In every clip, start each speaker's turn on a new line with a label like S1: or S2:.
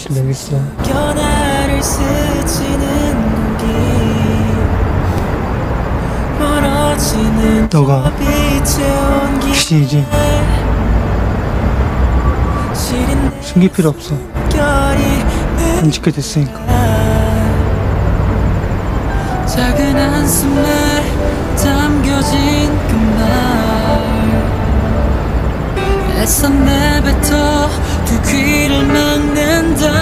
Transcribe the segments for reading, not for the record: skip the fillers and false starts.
S1: 좀 내겠어.
S2: 나를 스치는 공기 멀어지는
S1: 너가
S2: 빛의 온기
S1: 혹시 이제 숨길 필요 없어. 안 지게 됐으니까.
S2: 작은 한숨에 담겨진 그 말 애써 내뱉어 두 귀를 막는다.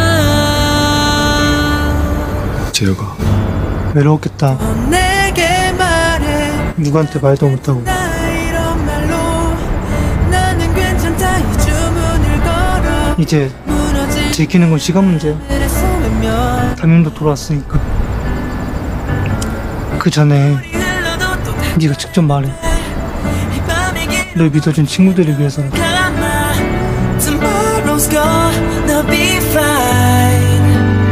S1: 재혁아, 외로웠겠다.
S2: 내게 말해
S1: 누구한테 말도 못하고.
S2: 나 이런 말로 나는 괜찮다 이 주문을 걸어
S1: 이제
S2: 무너진
S1: 지키는 건 시간 문제야.
S2: 하늘에 소매면
S1: 담임도 돌아왔으니까. 그 전에
S2: 흘러도 또
S1: 네가 직접 말해.
S2: 이 밤이
S1: 널 믿어준 친구들을 위해서는.
S2: 가나 Tomorrow's gonna be fine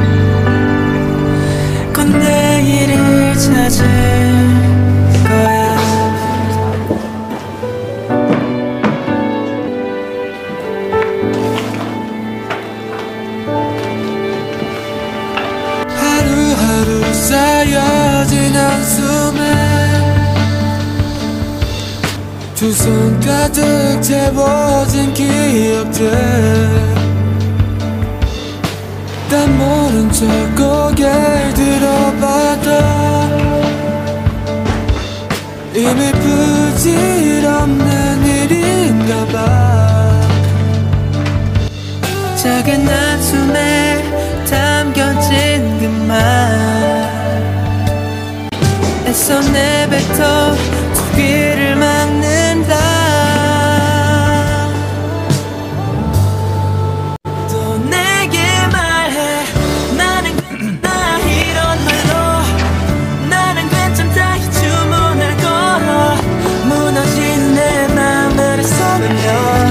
S2: 곧 내일을 찾을 거야. 하루하루 쌓여진 한숨에 두 손 가득 채워진 기억들 난 모른 척 고개를 들어봐도 이미 부질없는 일인가 봐. 작은 한숨에 담겨진 그 말 애써 내뱉어 두 귀를 막는다. 또 내게 말해 나는 괜찮다 이런 말로 나는 괜찮다 이 주문을 걸어 무너진 내 맘을 서물려